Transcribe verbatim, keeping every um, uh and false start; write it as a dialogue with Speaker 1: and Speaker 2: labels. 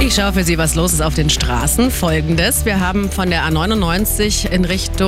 Speaker 1: Ich schaue für Sie, was los ist auf den Straßen. Folgendes: Wir haben von der A neunundneunzig in Richtung